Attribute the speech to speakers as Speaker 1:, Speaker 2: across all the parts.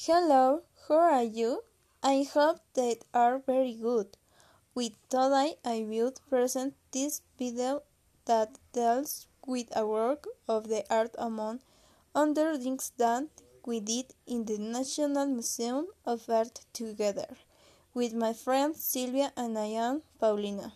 Speaker 1: Hello, how are you? I hope that are very good. With today I will present this video that deals with a work of the art among other things that we did in the National Museum of Art together with my friend Silvia and I am Paulina.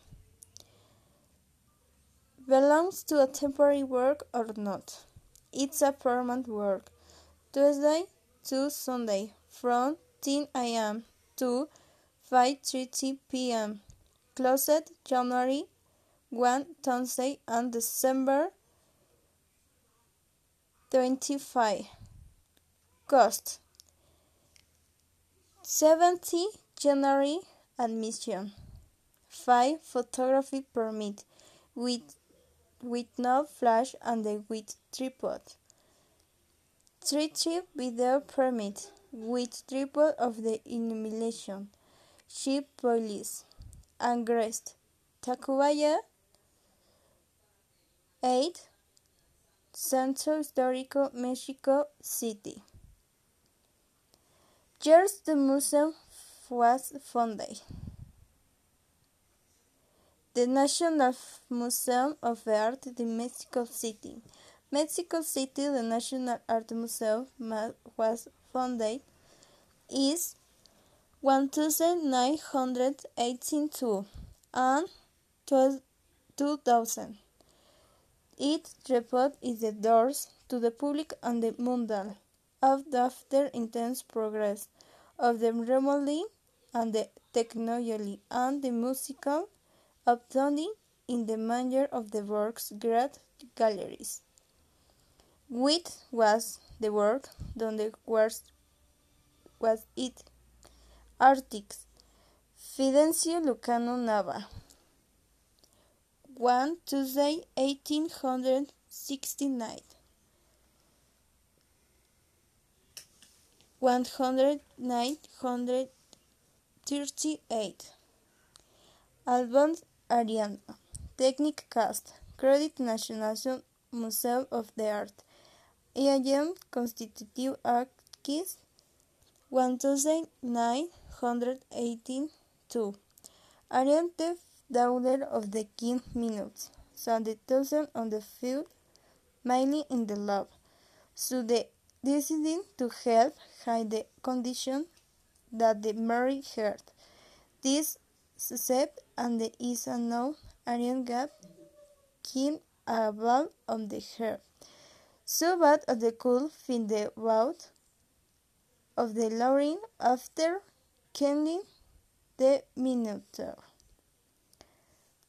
Speaker 1: Belongs to a temporary work or not? It's a permanent work. Tuesday to Sunday from 10 a.m. to 5:30 p.m. Closed January 1 Thursday and December 25. Cost 70 January admission. 5 photography permit with no flash and with tripod. 3 video permit with tripod of the illumination. Ship police and guest. Tacubaya 8 Centro Histórico Mexico City. Years the museum was founded. The National Museum of Art de Mexico City. Mexico City, the National Art Museum was founded is 1982 and 2000. It reopened its doors to the public and the mundane after intense progress of the remodeling and the technology and the musical updating in the manner of the work's great galleries. Which was the work done was it artist Fidencio Lucano Nava. 1 Tuesday 1869 10938 Albans Ariana Technic Cast Credit National Museum of the Art IAM Constitutive Archives 1982 Ariante Daughter of the King Minutes so the thousand on the field mainly in the lab so the deciding to help hide the condition that the Mary heard. This step and the is a known Arian gap King a ball on the hair. So bad at the cool fin the bout of the Lauren after killing the Minotaur.